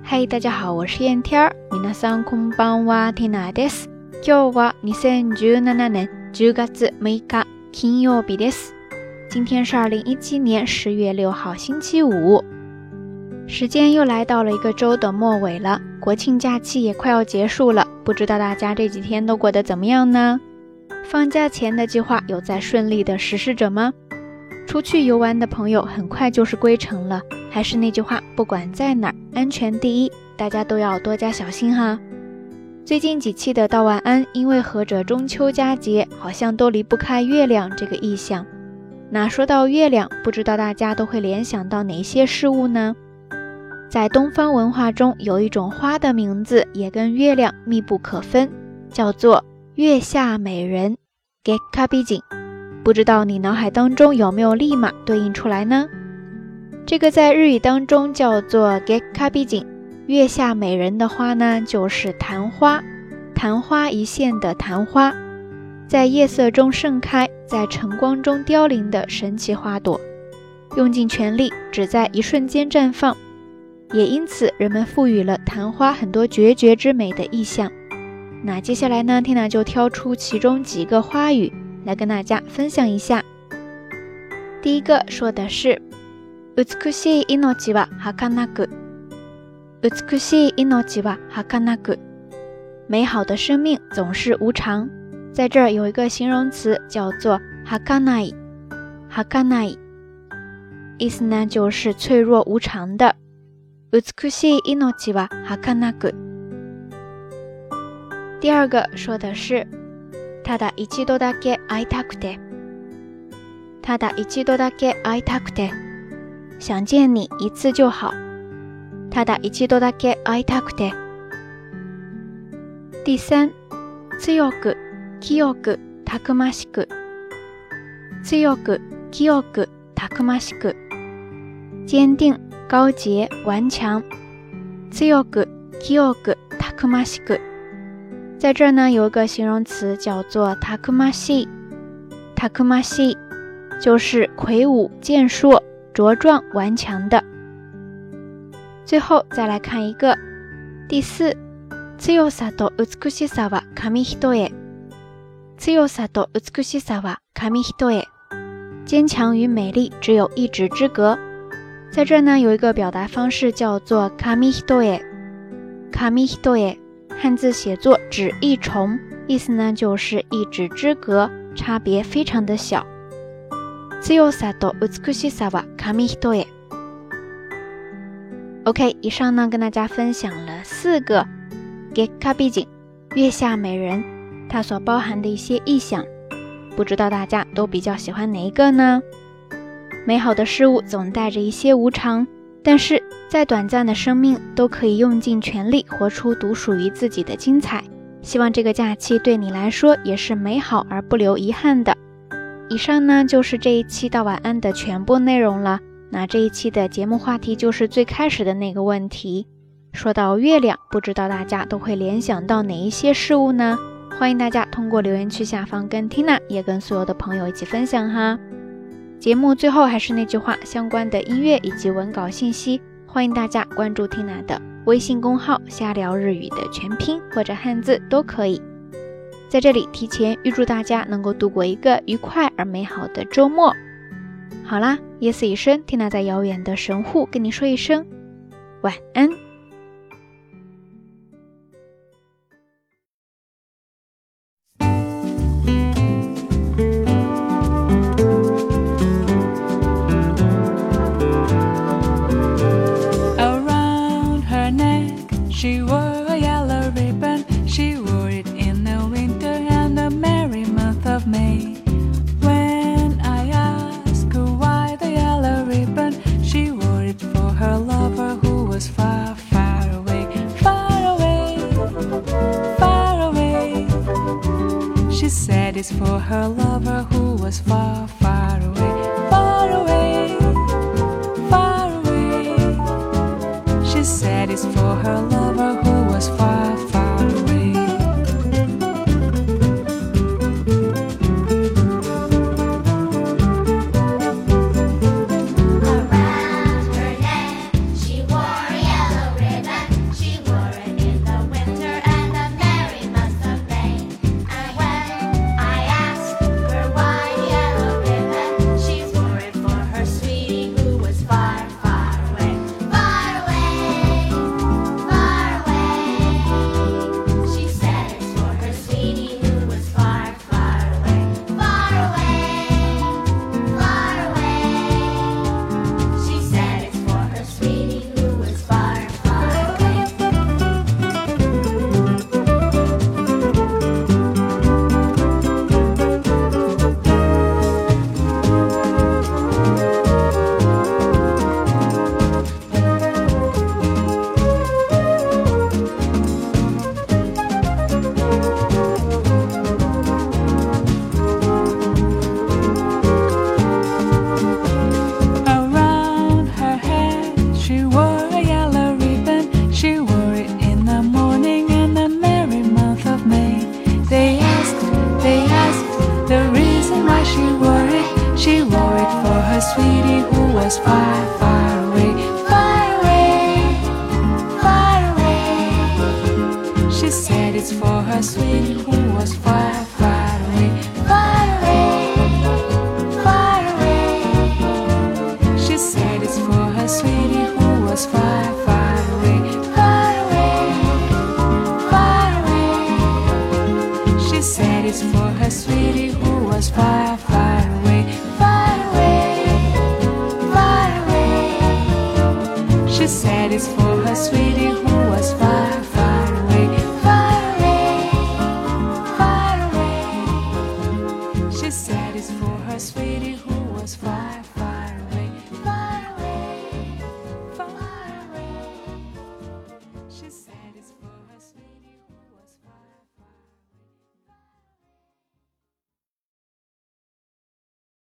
嗨，大家好，我是燕天儿。皆さんこんばんは、ティナです。今日は2017年10月6日金曜日です。今天是2017年10月6号星期五。时间又来到了一个周的末尾了，国庆假期也快要结束了，不知道大家这几天都过得怎么样呢？放假前的计划有在顺利的实施着吗？出去游玩的朋友很快就是归程了，还是那句话，不管在哪儿，安全第一，大家都要多加小心哈。最近几期的道晚安，因为合着中秋佳节，好像都离不开月亮这个意象。那说到月亮，不知道大家都会联想到哪些事物呢？在东方文化中，有一种花的名字也跟月亮密不可分，叫做月下美人 Gekkabi진。不知道你脑海当中有没有立马对应出来呢？这个在日语当中叫做 Gekkabi진， 月下美人的花呢，就是昙花，昙花一现的昙花，在夜色中盛开，在晨光中凋零的神奇花朵，用尽全力，只在一瞬间绽放，也因此人们赋予了昙花很多决绝之美的意象。那接下来呢，Tina就挑出其中几个花语来跟大家分享一下。第一个说的是美しい命は儚く，美しい命は儚く，美好的生命总是无常。在这儿有一个形容词叫做儚い，儚い，意思呢就是脆弱无常的。美しい命は儚く。第二个说的是ただ一度だけ会いたくて，ただ一度だけ会いたくて，想见你一次就好。ただ一度だけ会いたくて。第三，強く、清く、たくましく。強く、清く、たくましく。坚定、高洁、顽強。強く、清く、たくましく。在这儿呢，有一个形容词叫做たくましい，たくましい就是魁梧、健硕、茁壮、顽强的。最後再来看一个，第四，強さと美しさは紙一重。強さと美しさは紙一重，坚强与美丽只有一指之隔。在这儿呢，有一个表达方式叫做紙一重，紙一重。汉字写作指一重，意思呢就是一指之隔，差别非常的小。強さと美しさは紙一重。OK， 以上呢跟大家分享了4个 Gekkabi진 月下美人，它所包含的一些意象，不知道大家都比较喜欢哪一个呢？美好的事物总带着一些无常，但是再短暂的生命都可以用尽全力活出独属于自己的精彩。希望这个假期对你来说也是美好而不留遗憾的。以上呢就是这一期到晚安的全部内容了。那这一期的节目话题就是最开始的那个问题，说到月亮，不知道大家都会联想到哪一些事物呢？欢迎大家通过留言区下方跟 Tina 也跟所有的朋友一起分享哈。节目最后还是那句话，相关的音乐以及文稿信息欢迎大家关注 Tina 的微信公号瞎聊日语的全拼或者汉字都可以。在这里提前预祝大家能够度过一个愉快而美好的周末。好啦，夜色已深， Tina 在遥远的神户跟你说一声晚安。 She wore a yellow ribbon, she wore it in the winter and the merry month of May. When I asked her why the yellow ribbon, she wore it for her lover who was far, far away, far away, far away. She said it's for her lover who was far, far away, far away, far away. She said it's for her lover who was far, far away. Around her neck she wore a yellow ribbon. was far, far away, far away, far away. She said it's for her sweetie who was far, far away, far away, far away. She said it's for her sweetie who was far, far away, far away, far away. She said it's for her sweetie who was far, far away, far away, far away. She said